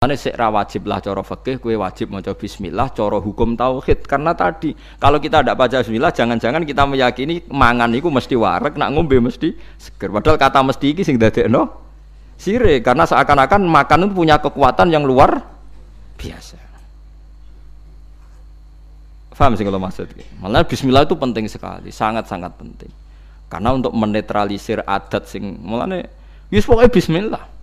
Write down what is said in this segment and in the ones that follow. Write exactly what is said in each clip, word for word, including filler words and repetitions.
Ane sik ra wajib lah cara fikih kowe wajib maca bismillah cara hukum tauhid karena tadi kalau kita tidak baca bismillah jangan-jangan kita meyakini mangan iku mesti wareg nak ngombe mesti seger padahal kata mesti iki sing dadekno sirik karena seakan-akan makan itu punya kekuatan yang luar biasa. Paham sih kalau maksud malah bismillah itu penting sekali, sangat-sangat penting. Karena untuk menetralisir adat sing mulane wis pokoke bismillah.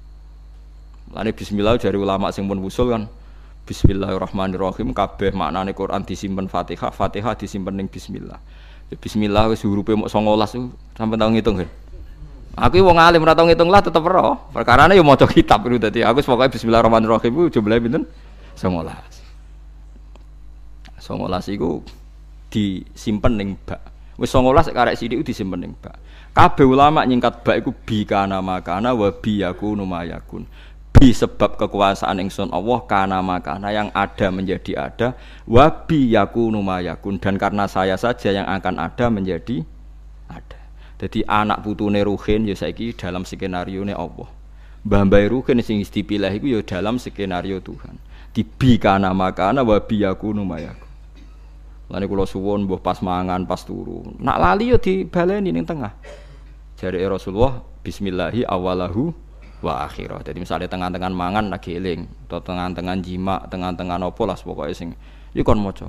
Lane bismillah dari ulama sing pun usul kan bismillahirrahmanirrahim kabeh maknane Quran disimpen Fatihah, Fatihah disimpen ning bismillah. Ya bismillah wis hurufe mok songolas sampe tau ngitung kan. Aku wong alim ora tau ngitung lah tetep ora. Perkarane yo maca kitab itu dadi aku pokoke bismillahirrahmanirrahim iku jumlahe pinten? songolas. songolas iku disimpen ning bak. Wis songolas karek sithik disimpen ning bak. Kabeh ulama nyingkat bak iku bi kana makana wa bi yakunu mayakun. Bi sebab kekuasaan ingsun Allah kana makana yang ada menjadi ada wa bi yakunu mayakun dan karena saya saja yang akan ada menjadi ada. Jadi anak putune Ruhin ya saiki dalam skenario ne Allah. Mbah-mbah Ruhin sing dipilih iku ya dalam skenario Tuhan. Di bi kana makana wa bi yakunu mayakun. Lane kula suwun mbuh pas mangan pas turu. Nak lali ya dibaleni ning tengah. Jare Rasulullah bismillahi awalahu wa akhirah. Jadi misalnya tengah-tengah mangan lagi eling, atau tengah-tengah jima, tengah-tengah nopo lah pokoknya sing iku kon maca.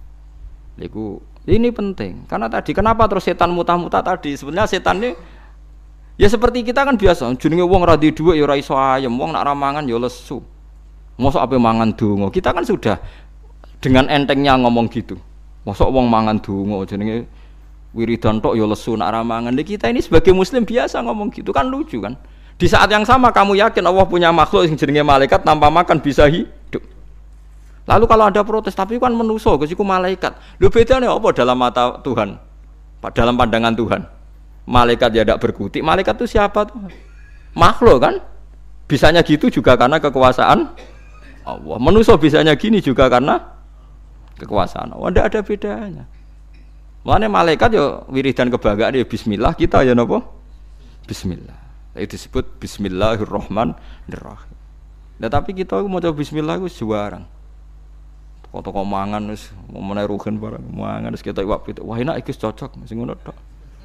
Iku ini penting. Karena tadi kenapa terus setan mutah-mutah tadi? Sebenarnya setan ini ya seperti kita kan biasa, jenenge wong ra di dhuwit ya ora iso ayem, wong nak ra mangan ya lesu. Mosok ape mangan donga. Kita kan sudah dengan entengnya ngomong gitu. Mosok wong mangan donga jenenge wiridan tok ya lesu nak ra mangan. Kita ini sebagai muslim biasa ngomong gitu kan lucu kan? Di saat yang sama kamu yakin Allah punya makhluk yang jenenge malaikat tanpa makan bisa hidup. Lalu kalau ada protes, tapi kan manusia, kesiku malaikat. Lu bedanya apa dalam mata Tuhan? Dalam pandangan Tuhan. Malaikat ya tidak berkutik. Malaikat itu siapa tuh? Makhluk kan? Bisanya gitu juga karena kekuasaan Allah. Manusia bisanya gini juga karena kekuasaan Allah. Tidak ada bedanya. Makanya malaikat ya wiridan kebanggaan ya bismillah, kita ya napa? Bismillah. Itu disebut bismillahirrahmanirrahim. Nah tapi kita mau coba bismillah itu juarang. Toko-toko mangan wis momene Ruhin barang mangan wis kita iwak pitik. Wah enak iki cocok sing ngono tok.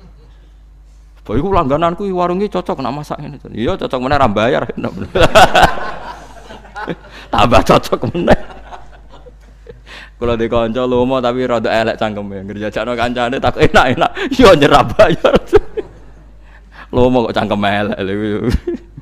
Bae iku langgananku warung iki cocok nak masak ngene. Iya cocok meneh ra bayar. Tambah cocok meneh. Kalau di kanca lomo tapi rada elek cangkeme. Ngerjajakno kancane tak enak-enak. Yo nyerah bayar. Lomo kok cangkem elek lho.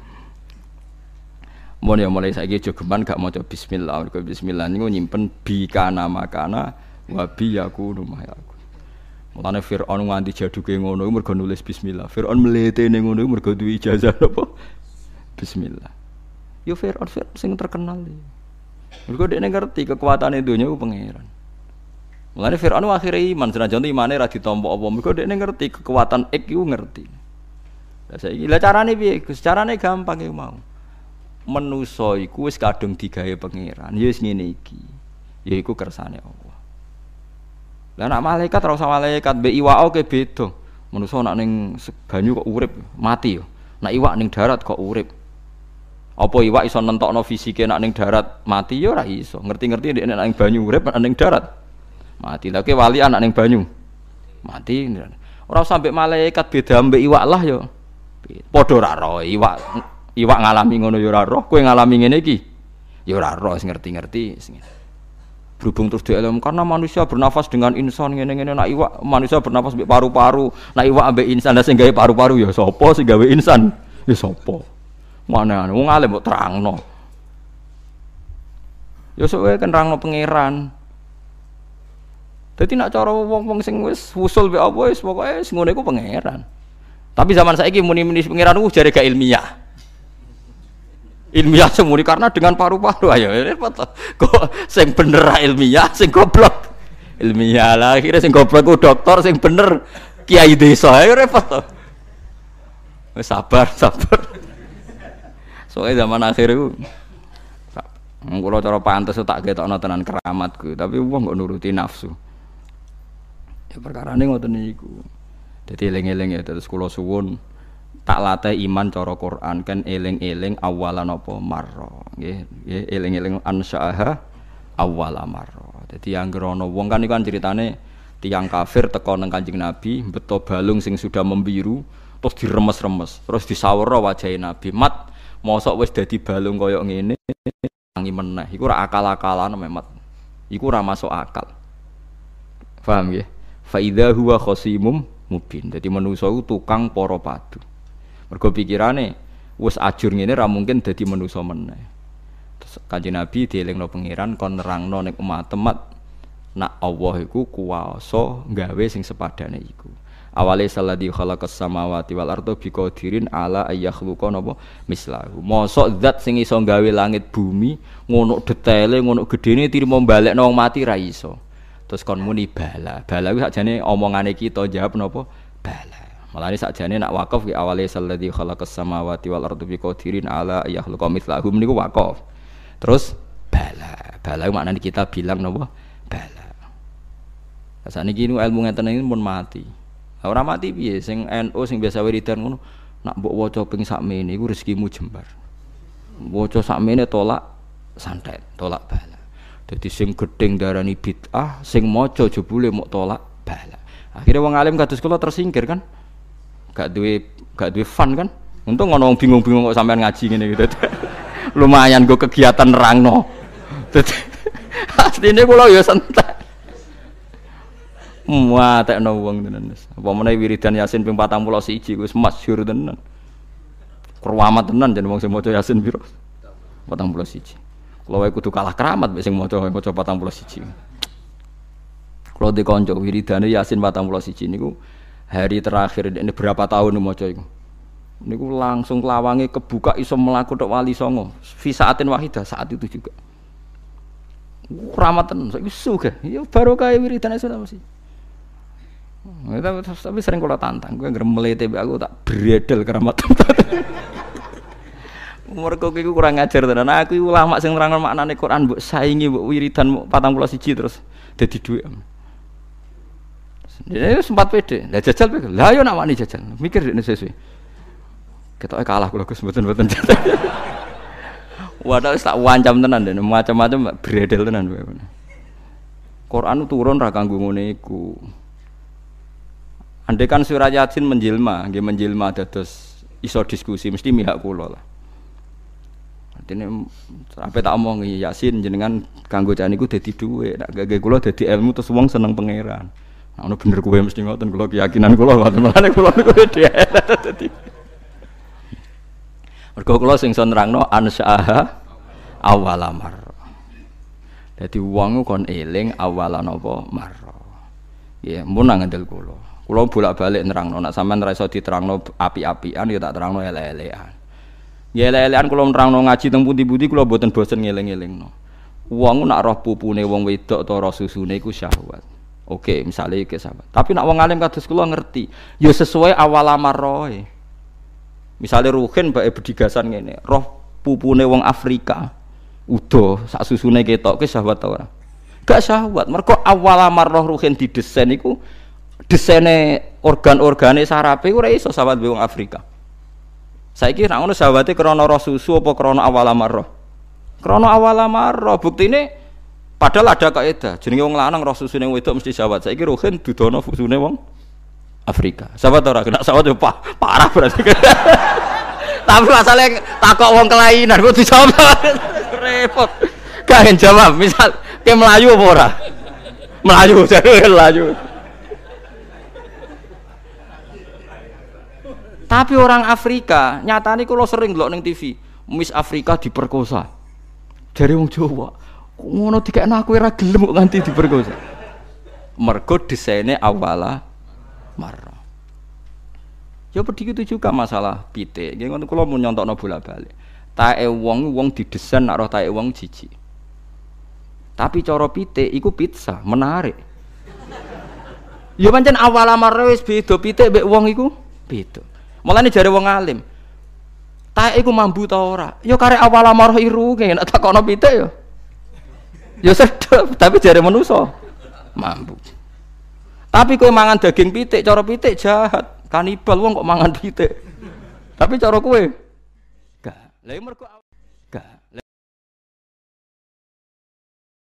Mun ya mulai saiki jogeman gak maca bismillah. Mergo bismillah niku nyimpen bi kana makana wa bi yakunu mayakun. Mulane Firaun nganti jaduke ngono iku mergo nulis bismillah. Firaun mletene ngono iku mergo duwe ijazah apa? Bismillah. Yo Firaun Firaun sing terkenal iki. Mergo dekne ngerti kekuatane donya ku pangeran. Mulane Firaun akhire iman senajan imane ra ditampa apa. Mergo dekne ngerti kekuatan ik iku ngerti. Lah saiki lah carane piye? Gus carane gampang iku mau. Manusa iku wis kadung digawe pangeran. Ya wis ngene iki. Ya iku kersane Allah. Lah nek malaikat ora usah malaikat mbek iwak ke beda. Manusa nek ning banyu kok urip, mati yo. Nek iwak ning darat kok urip. Apa iwak iso nentokno fisike nek ning darat mati yo ora iso. Ngerti-ngerti nek ning banyu urip nek ning darat mati. Lah ke wali anak ning banyu mati. Ora usah mbek malaikat beda mbek iwak lah yo. Padha ora roh iwak iwak ngalami ngono ya ora roh kowe ngalami ngene iki ya ora roh sing ngerti-ngerti sing berhubung terus dielem karena manusia bernafas dengan insan ngene-ngene nek iwak manusia bernafas mbek paru-paru nek iwak ambek insan sing gawe paru-paru ya sapa sing gawe insan ya sapa mana wong alim kok terangno ya sok wae kan nerangno pangeran dadi nek cara wong-wong sing wis usul mbek apa wis pokoke sing ngene iku pangeran. Tapi zaman saiki muni-muni pangeran ku jare gak ilmiah. Ilmiah semuni karena dengan paru-paru ayo repot to. Kok sing bener ra ilmiah, sing goblok ilmiah lah. Akhire sing goblok ku dokter, sing bener kiai desa. Ayo repot to. Wis sabar, sabar. Soale zaman akhir iku kula cara pantes tak ketokno tenan keramatku, tapi wong kok nuruti nafsu. Ya perkarane ngoten niku. Jadi eling-eling ya terus kula suwun tak latih iman cara Quran kan eling-eling awalan apa marra nggih nggih eling-eling ansyaha awala marra. Dadi anggere ana wong kan iku kan ceritane tiyang kafir teka nang Kanjeng Nabi beto balung sing sudah membiru terus diremes-remes terus disawara wajahe Nabi mat mosok wis dadi balung kaya ngene tangi meneh iku ora akal-akalan Mat iku ora masuk akal paham nggih fa idza huwa khasimum mubin dadi manusa iku tukang para padu mergo pikirane wis ajur ngene ra mungkin dadi manusa meneh terus Kanjeng Nabi dielingno pangeran kon nerangno ning umat temat nak Allah iku kuwasa gawe sing sepadane iku awale salladzi khalaqas samawati wal arda biqadirin ala ayakhluqa napa mislahu mosok zat sing iso gawe langit bumi ngono detaile ngono gedene tirimo balekno wong mati ra iso terus kon muni bala bala kuwi sakjane omongane kita jawab napa bala malane sakjane nak wakaf ki awale salladzi khalaqas samawati wal arda biqadirin ala ayakhluqa mislahu niku wakaf terus bala bala maknane kita bilang napa bala saniki ilmu ngeten iki pun mati. Ora mati piye sing N U sing biasa wiridan ngono nak mbok waca ping sakmene iku rezekimu jembar. Waca sakmene tolak santet, tolak bala. Dadi sing gedeng darani bid'ah, sing maca jebule mok tolak bala. Akhire wong alim kados kula tersingkir kan. Gak duwe gak duwe fun kan. Untung ana wong bingung-bingung kok sampean ngaji ngene iki. Lumayan go kegiatan nerangno. Dadi asline kula ya santai. Muat tekno wong tenan wis. Apa meneh wiridan Yasin ping patang puluh siji wis masyhur tenan. Keramat tenan jan wong sing maca Yasin piro? patang puluh siji. Kula wae kudu kalah keramat mek sing maca maca patang puluh siji. Kula di kanca wiridane Yasin patang puluh siji niku hari terakhir ini berapa tahun maca iku. Niku langsung lawange kebuka iso mlaku tok wali songo. Fi saatin wahidah saat itu juga. Keramat tenan saiki sugih. Ya barokah wiridane sudah mesti. Tapi sering kalau tantang, gue ngeremelete aku tak bredel keramat. Mergo iku kurang ngajar tenan. Aku ulama sing nerangno maknane Quran mbok saingi mbok wiridan patang puluh siji terus dadi dhuwit. Dia sempat pede. Lah jajal pede. Lah yo nak wani jajal. Mikir dekne sesuai. Ketoke kalah kula Gus mboten-mboten jajal. Wadah wis tak wancam tenan den, macam-macam bredel tenan kowe. Quran turun ra kanggo ngene iku. Andai kan surat Yasin menjelma, nggih menjelma dados iso diskusi mesti mihak kula lah. Artine sampe tak omongi Yasin jenengan kanggo jan niku dadi dhuwit, nek gage kula dadi ilmu terus wong seneng pangeran. Nah ono bener kowe mesti ngoten kula keyakinan kula ngoten melane kula niku dadi. Mergo kula sing iso nerangno ansyaha awalamar. Dadi wong kon eling awalan apa marra. Nggih, mun ngandel kula. Kula bolak-balik nerangno nek sampean ora iso diterangno api-apian ya tak terangno elek-elekan. Ya elek-elekan kula nerangno ngaji teng pundi-pundi kula mboten bosen ngeling-elingno. Wong nak roh pupune wong wedok ta roh susune iku syahwat. Oke, misale iki sahabat. Tapi nak wong alim kados kula ngerti, ya sesuai awal amarroe. Misale ruhin bae bedigasan ngene, roh pupune wong Afrika udo sak susune ketok ke syahwat ta ora? Gak syahwat. Mergo awal amarroh ruhin didesain iku desaine organ-organe sarape ora iso sahabat wong Afrika. Saiki nek ngono sahabate krana roh susu apa krana awal amarrah? Krana awal amarrah. Buktine padahal ada kaidah. Jenenge wong lanang roh susune wedok mesti sahabat. Saiki rohen dudono susune wong Afrika. Sahabat ora kena sahabat yo parah berarti. Tapi masalahnya takok wong kelainan kok dijawab repot. Gak jawab. Misal ke Melayu apa ora? Melayu, jadi Melayu. Tapi orang Afrika, nyatane kula sering ndelok ning T V, Miss Afrika diperkosa. Jare wong Jawa, ngono dikekno aku ora gelem kok nganti diperkosa. Mergo desaine awala marra. Ya begitu juga masalah pitik. Nggih ngono kula mun nyontokno bolak-balik. Tae wong wong didesain nak roh tae wong jijik. Tapi cara pitik iku pizza, menarik. Ya pancen awala marra wis beda pitik mbek wong iku beda. Mulane jare wong alim. Tae iku mambu ta ora? Ya karek awal amarah irunge nek takono pitik ya. Ya sedep, tapi jare manusa mambu. Tapi kowe mangan daging pitik, cara pitik jahat. Kanibal wong kok mangan pitik. Tapi cara kowe gak. Lah mergo